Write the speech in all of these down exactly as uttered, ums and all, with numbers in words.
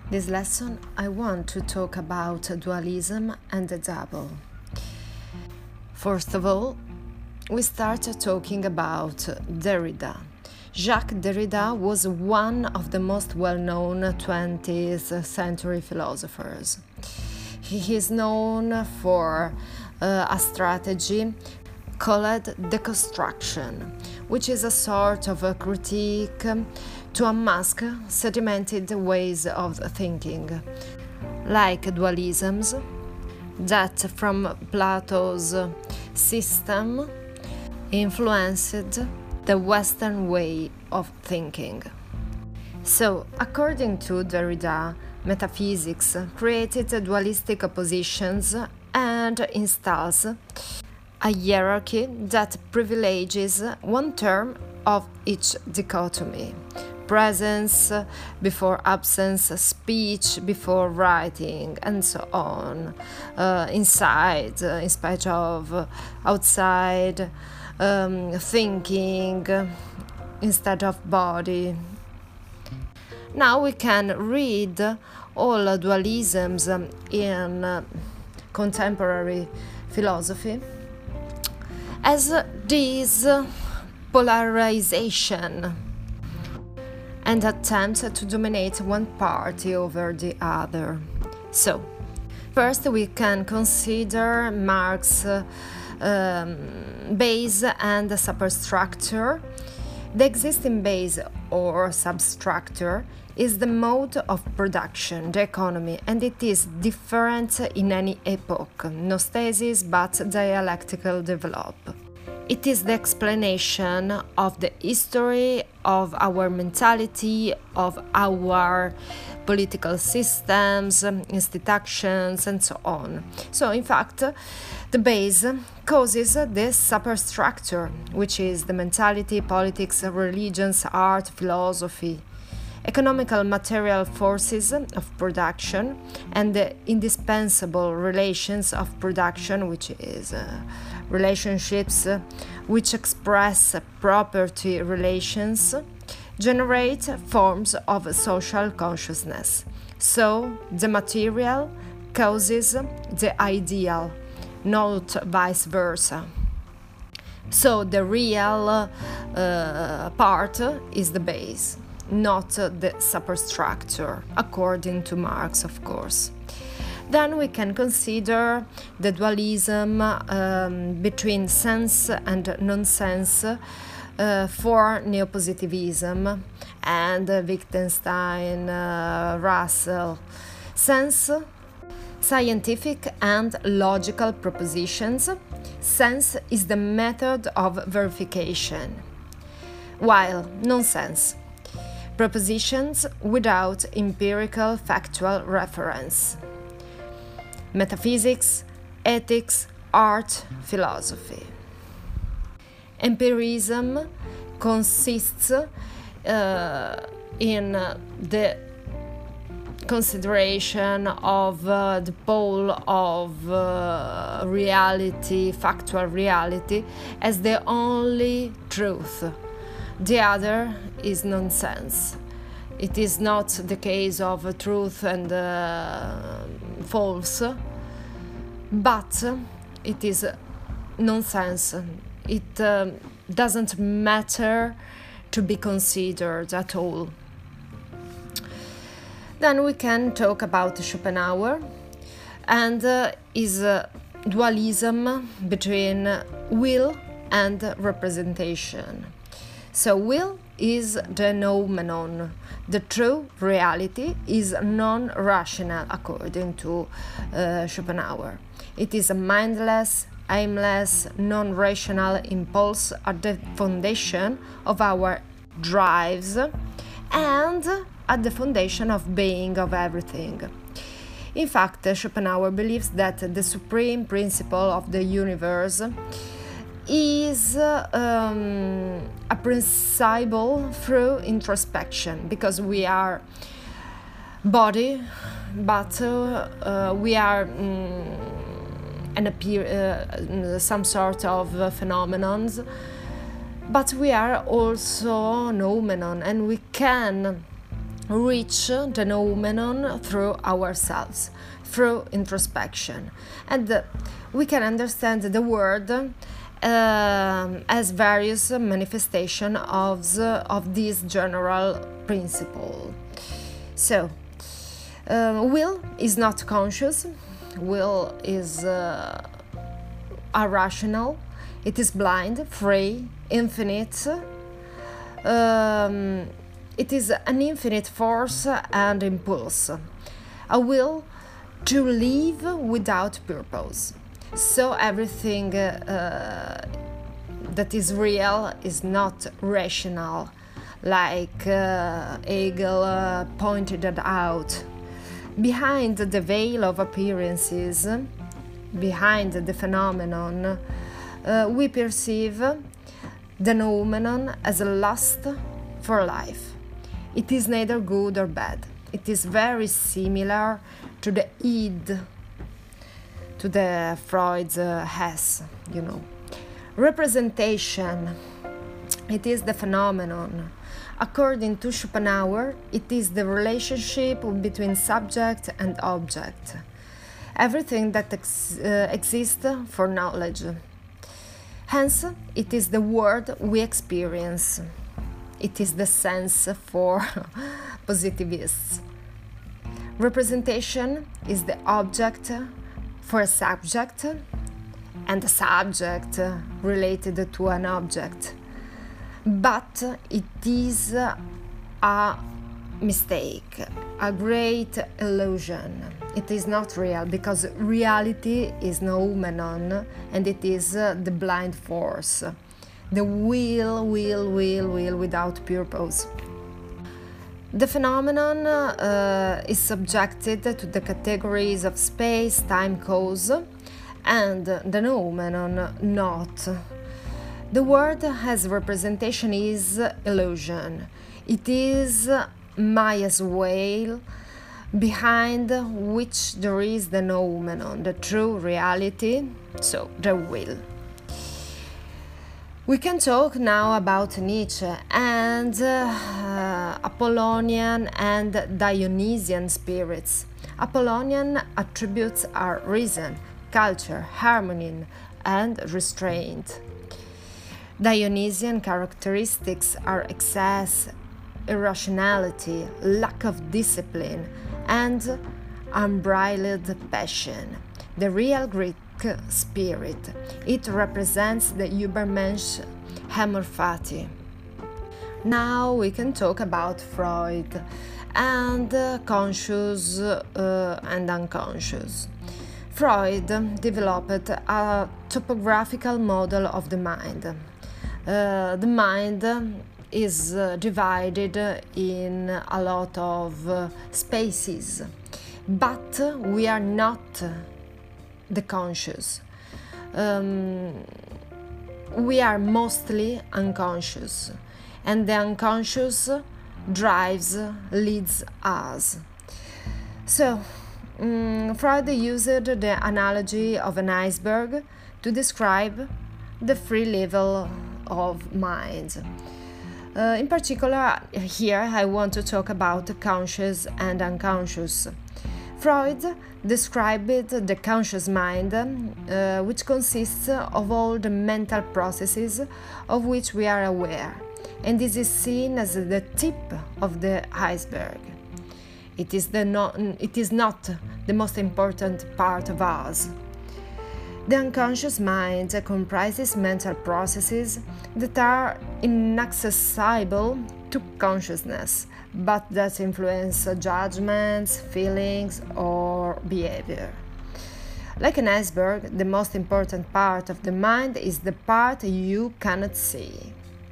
This lesson I want to talk about dualism and the double. First of all, we start talking about Derrida. Jacques Derrida was one of the most well-known twentieth century philosophers. He is known for uh, a strategy called deconstruction, which is a sort of a critique to unmask sedimented ways of thinking, like dualisms that from Plato's system influenced the Western way of thinking. So, according to Derrida, metaphysics created dualistic oppositions and installs a hierarchy that privileges one term of each dichotomy: presence before absence, speech before writing, and so on. Uh, inside, uh, in spite of, outside, um, thinking instead of body. Now we can read all dualisms in uh, contemporary philosophy as this polarization and attempt to dominate one party over the other. So, first we can consider Marx's um, base and superstructure. The existing base or substructure is the mode of production, the economy, and it is different in any epoch, no stasis but dialectical develop. It is the explanation of the history of our mentality, of our political systems, institutions, and so on. So, in fact, the base causes the superstructure, which is the mentality, politics, religions, art, philosophy, economical material forces of production, and the indispensable relations of production, which is uh, relationships uh, which express property relations, generate forms of social consciousness. So the material causes the ideal, not vice versa. So the real uh, part is the base, not the superstructure, according to Marx, of course. Then we can consider the dualism um, between sense and non-sense uh, for neopositivism and uh, Wittgenstein, uh, Russell. Sense, scientific and logical propositions. Sense is the method of verification, while non-sense, propositions without empirical factual reference. Metaphysics, ethics, art, philosophy. Empirism consists uh, in the consideration of uh, the pole of uh, reality, factual reality, as the only truth. The other is nonsense. It is not the case of truth and uh, false, but it is nonsense. It uh, doesn't matter to be considered at all. Then we can talk about Schopenhauer and uh, his uh, dualism between will and representation. So will is the noumenon. The true reality is non-rational, according to uh, Schopenhauer. It is a mindless, aimless, non-rational impulse at the foundation of our drives and at the foundation of being of everything. In fact, Schopenhauer believes that the supreme principle of the universe is um, apprehensible through introspection, because we are body, but uh, uh, we are um, an appear, uh, some sort of uh, phenomenons, but we are also noumenon, and we can reach the noumenon through ourselves, through introspection. And uh, we can understand the world uh, as various manifestations of, the, of this general principle. So, uh, will is not conscious, will is uh, irrational, it is blind, free, infinite. Um, it is an infinite force and impulse, a will to live without purpose. So everything uh, that is real is not rational, like uh, Hegel uh, pointed it out. Behind the veil of appearances, behind the phenomenon, uh, we perceive the noumenon as a lust for life. It is neither good or bad. It is very similar to the id, to the Freud's uh, Hess, you know. Representation, it is the phenomenon. According to Schopenhauer, it is the relationship between subject and object. Everything that ex- uh, exists for knowledge. Hence, it is the world we experience. It is the sense for positivists. Representation is the object for a subject, and a subject related to an object. But it is a mistake, a great illusion. It is not real, because reality is noumenon, and it is uh, the blind force, the will, will, will, will without purpose. The phenomenon uh, is subjected to the categories of space, time, cause, and the noumenon not. The word as representation is illusion. It is Maya's veil, behind which there is the noumenon, the true reality, so the will. We can talk now about Nietzsche and uh, Apollonian and Dionysian spirits. Apollonian attributes are reason, culture, harmony, and restraint. Dionysian characteristics are excess, irrationality, lack of discipline, and unbridled passion. The real Greek spirit, it represents the Übermensch amor fati. Now we can talk about Freud and uh, conscious uh, and unconscious. Freud developed a topographical model of the mind. Uh, the mind is uh, divided in a lot of uh, spaces, but we are not the conscious. Um, we are mostly unconscious, and the unconscious drives, leads us. So, um, Freud used the analogy of an iceberg to describe the three levels of mind. Uh, in particular, here I want to talk about conscious and unconscious. Freud described the conscious mind, uh, which consists of all the mental processes of which we are aware, and this is seen as the tip of the iceberg. It is, the no- it is not the most important part of us. The unconscious mind comprises mental processes that are inaccessible to consciousness, but that influence judgments, feelings, or behavior. Like an iceberg, the most important part of the mind is the part you cannot see.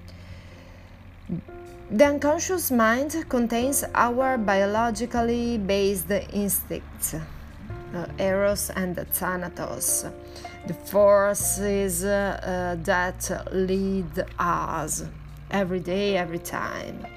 The unconscious mind contains our biologically based instincts, uh, Eros and Thanatos, the forces uh, uh, that lead us every day, every time.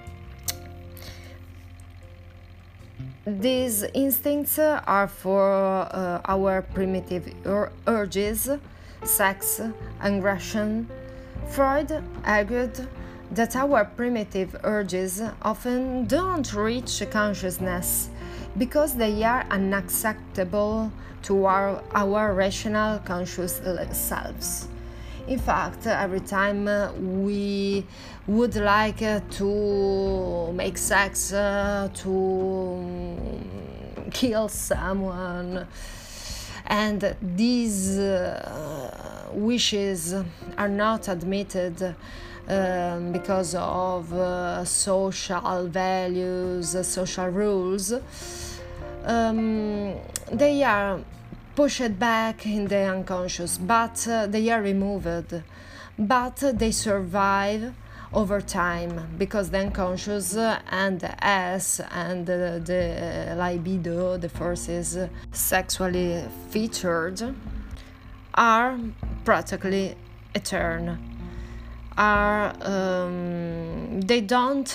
These instincts are for uh, our primitive ur- urges, sex, aggression. Freud argued that our primitive urges often don't reach consciousness because they are unacceptable to our, our rational conscious selves. In fact, every time we would like to make sex, uh, to kill someone, and these uh, wishes are not admitted um, because of uh, social values, uh, social rules, um, they are pushed back in the unconscious, but uh, they are removed, but they survive over time because the unconscious and the S and the, the libido, the forces sexually featured, are practically eternal. Are um, they don't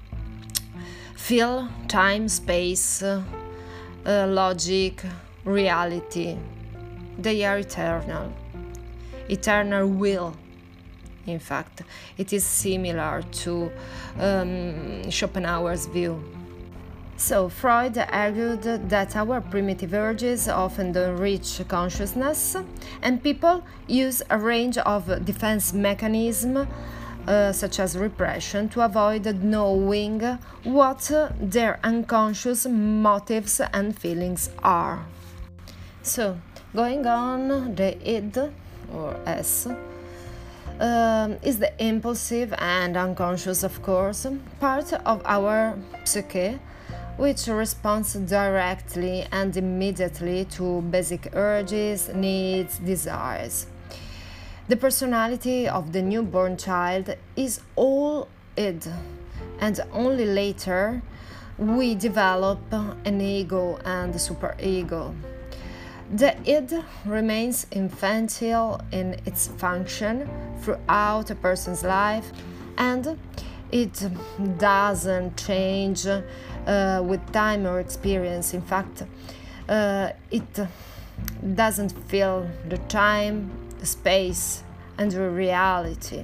feel time, space, uh, logic, reality. They are eternal. Eternal will. In fact, it is similar to um, Schopenhauer's view. So, Freud argued that our primitive urges often don't reach consciousness, and people use a range of defense mechanisms, uh, such as repression, to avoid knowing what their unconscious motives and feelings are. So, going on, the id, or S, um, is the impulsive and unconscious, of course, part of our psyche, which responds directly and immediately to basic urges, needs, desires. The personality of the newborn child is all id, and only later we develop an ego and a superego. The id remains infantile in its function throughout a person's life, and it doesn't change uh, with time or experience. In fact, uh, it doesn't feel the time, the space, and the reality.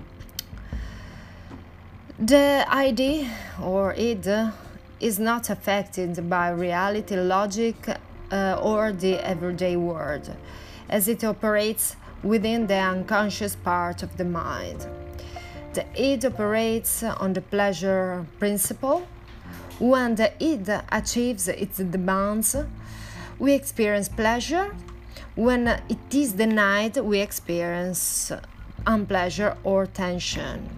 The id, or id, is not affected by reality, logic, uh, or the everyday world, as it operates within the unconscious part of the mind. The id operates on the pleasure principle. When the id achieves its demands, we experience pleasure. When it is denied, we experience unpleasure or tension.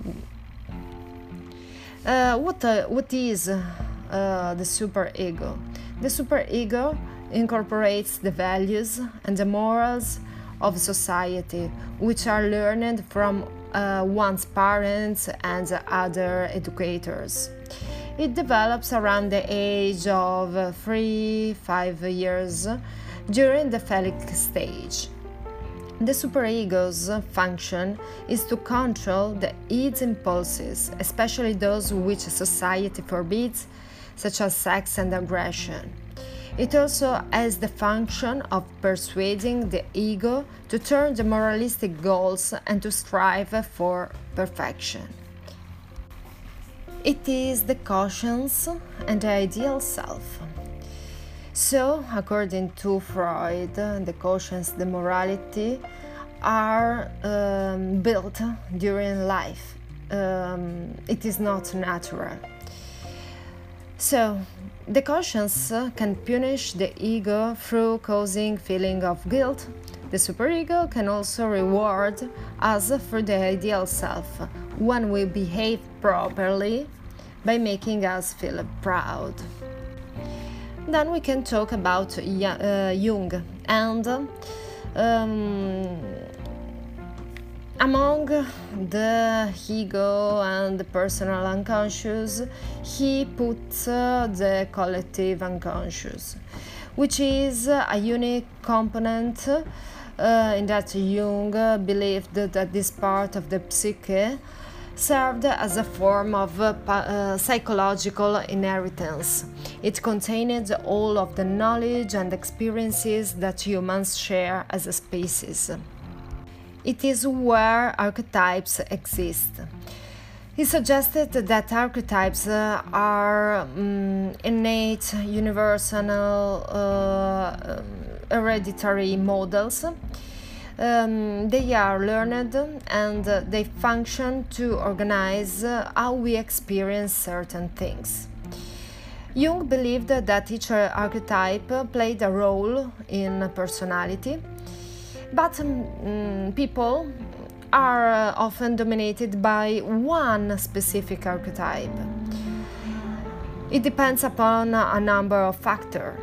Uh, what, uh, what is uh, the superego? The superego incorporates the values and the morals of society, which are learned from uh, one's parents and other educators. It develops around the age of three to five years during the phallic stage. The superego's function is to control the id's impulses, especially those which society forbids, such as sex and aggression. It also has the function of persuading the ego to turn the moralistic goals and to strive for perfection. It is the conscience and the ideal self. So, according to Freud, the conscience, the morality are um, built during life. Um, it is not natural. So, the conscience can punish the ego through causing feeling of guilt. The superego can also reward us for the ideal self when we behave properly by making us feel proud. Then we can talk about uh, Jung, and um, among the ego and the personal unconscious, he puts uh, the collective unconscious, which is a unique component uh, in that Jung believed that this part of the psyche served as a form of uh, uh, psychological inheritance. It contained all of the knowledge and experiences that humans share as a species. It is where archetypes exist. He suggested that archetypes uh, are um, innate, universal, uh, hereditary models. Um, they are learned and uh, they function to organize uh, how we experience certain things. Jung believed that each archetype played a role in personality, but um, people are uh, often dominated by one specific archetype. It depends upon a number of factors.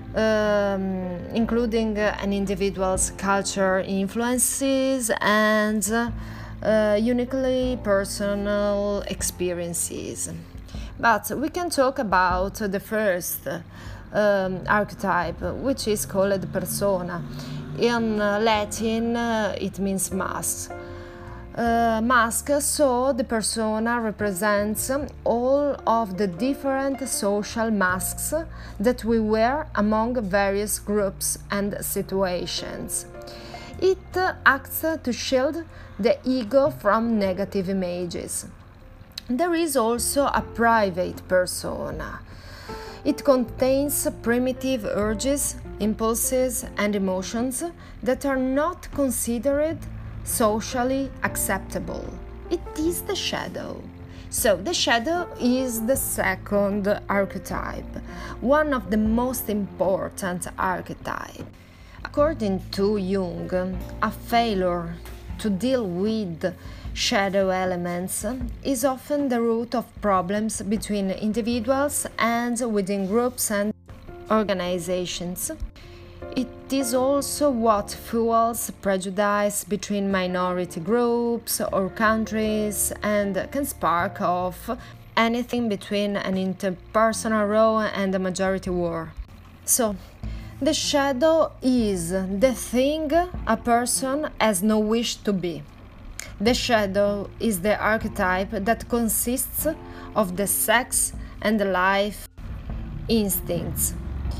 Um, including uh, an individual's culture influences and uh, uniquely personal experiences. But we can talk about the first um, archetype, which is called persona. In uh, Latin, uh, it means mask. Uh, mask, so the persona represents all of the different social masks that we wear among various groups and situations. It uh, acts to shield the ego from negative images. There is also a private persona. It contains primitive urges, impulses, and emotions that are not considered socially acceptable. It is the shadow. So the shadow is the second archetype, one of the most important archetypes. According to Jung, a failure to deal with shadow elements is often the root of problems between individuals and within groups and organizations. It is also what fuels prejudice between minority groups or countries and can spark off anything between an interpersonal row and a majority war. So, the shadow is the thing a person has no wish to be. The shadow is the archetype that consists of the sex and the life instincts.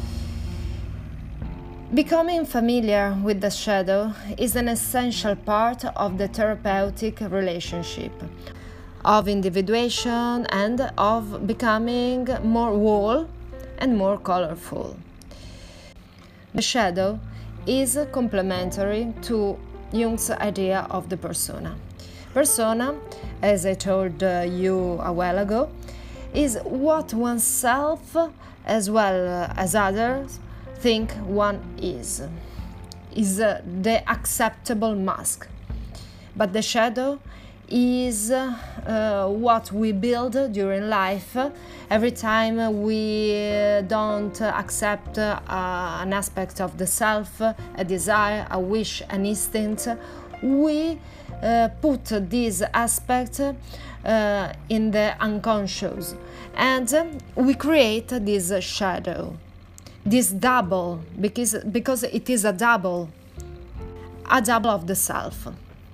Becoming familiar with the shadow is an essential part of the therapeutic relationship, of individuation and of becoming more whole and more colorful. The shadow is complementary to Jung's idea of the persona. Persona, as I told uh, you a while ago, is what oneself as well as others think one is, is uh, the acceptable mask. But the shadow is uh, what we build during life. Every time we don't accept uh, an aspect of the self, a desire, a wish, an instinct, we uh, put this aspect uh, in the unconscious and we create this shadow. This double, because, because it is a double, a double of the self.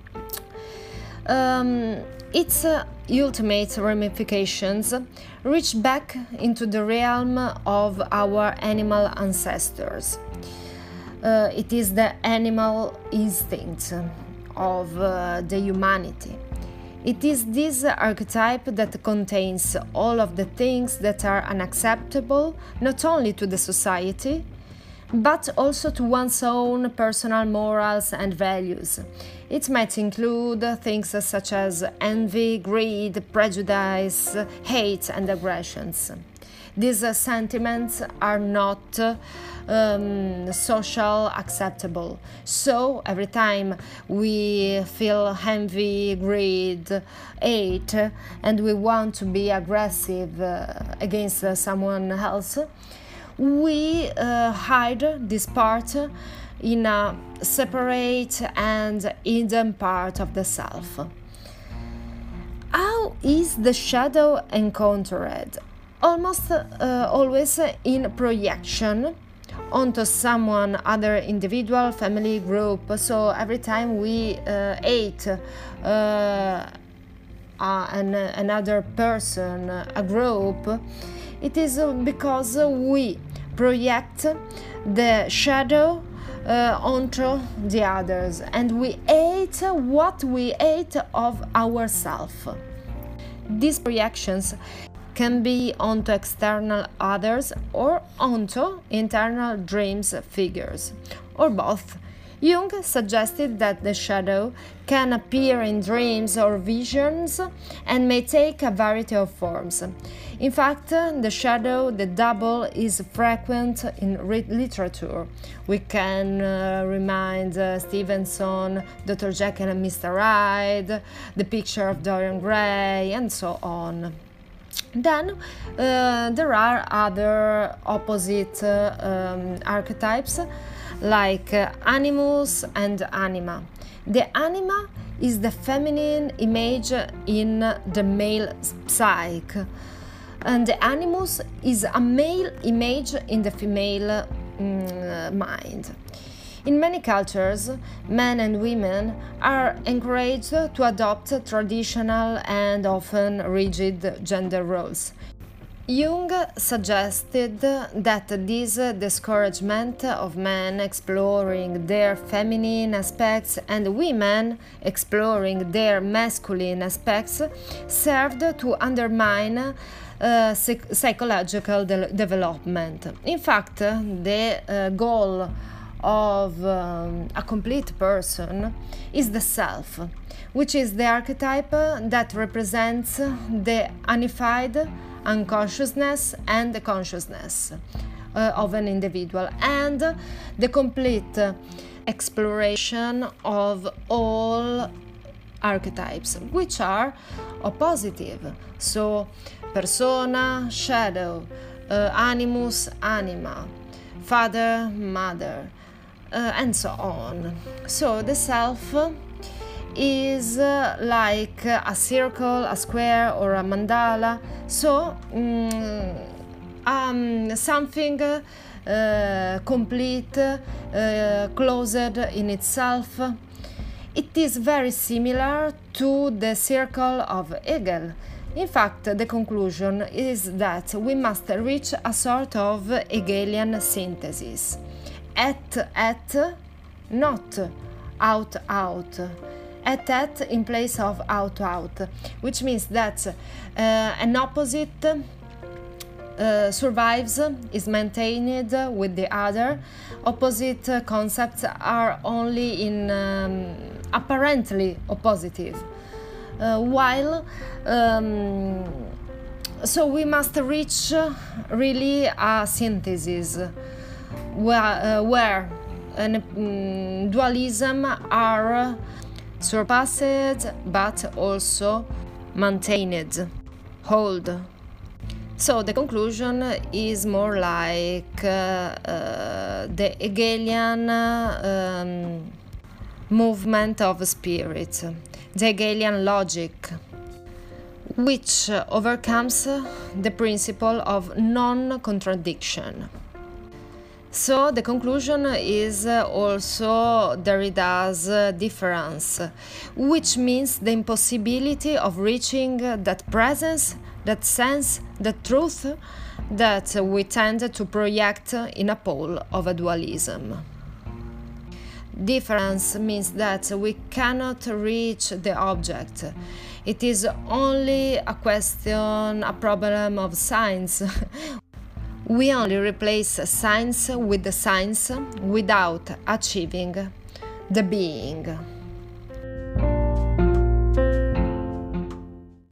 Um, its uh, ultimate ramifications reach back into the realm of our animal ancestors. Uh, it is the animal instinct of uh, the humanity. It is this archetype that contains all of the things that are unacceptable not only to the society, but also to one's own personal morals and values. It might include things such as envy, greed, prejudice, hate, and aggressions. These sentiments are not um, social acceptable. So every time we feel envy, greed, hate, and we want to be aggressive uh, against uh, someone else, we uh, hide this part in a separate and hidden part of the self. How is the shadow encountered? Almost uh, always in projection onto someone, other individual, family, group. So every time we uh, hate uh, uh, an, another person, a group, it is because we project the shadow uh, onto the others and we hate what we hate of ourselves. These reactions can be onto external others or onto internal dreams figures, or both. Jung suggested that the shadow can appear in dreams or visions and may take a variety of forms. In fact, the shadow, the double, is frequent in literature. We can uh, remind uh, Stevenson, Doctor Jekyll and Mister Hyde, the picture of Dorian Gray, and so on. Then uh, there are other opposite uh, um, archetypes, like uh, animus and anima. The anima is the feminine image in the male psyche, and the animus is a male image in the female mm, mind. In many cultures, men and women are encouraged to adopt traditional and often rigid gender roles. Jung suggested that this discouragement of men exploring their feminine aspects and women exploring their masculine aspects served to undermine uh, psych psychological de development. In fact, the uh, goal of um, a complete person is the self, which is the archetype that represents the unified unconsciousness and the consciousness uh, of an individual, and the complete exploration of all archetypes, which are oppositive. So, persona, shadow, uh, animus, anima, father, mother, uh, and so on. So, the self is uh, like a circle, a square, or a mandala. So, um, um, something uh, complete, uh, closed in itself. It is very similar to the circle of Hegel. In fact, the conclusion is that we must reach a sort of Hegelian synthesis. At, at, not out, out. At at in place of out out, which means that uh, an opposite uh, survives, is maintained with the other. Opposite uh, concepts are only in um, apparently oppositive, uh, while um, so we must reach uh, really a synthesis where, uh, where an, um, dualism are surpassed but also maintained, hold. So the conclusion is more like uh, uh, the Hegelian uh, um, movement of spirit, the Hegelian logic, which overcomes the principle of non-contradiction. So the conclusion is also Derrida's difference, which means the impossibility of reaching that presence, that sense, that truth that we tend to project in a pole of a dualism. Difference means that we cannot reach the object. It is only a question, a problem of science. We only replace science with the science without achieving the being.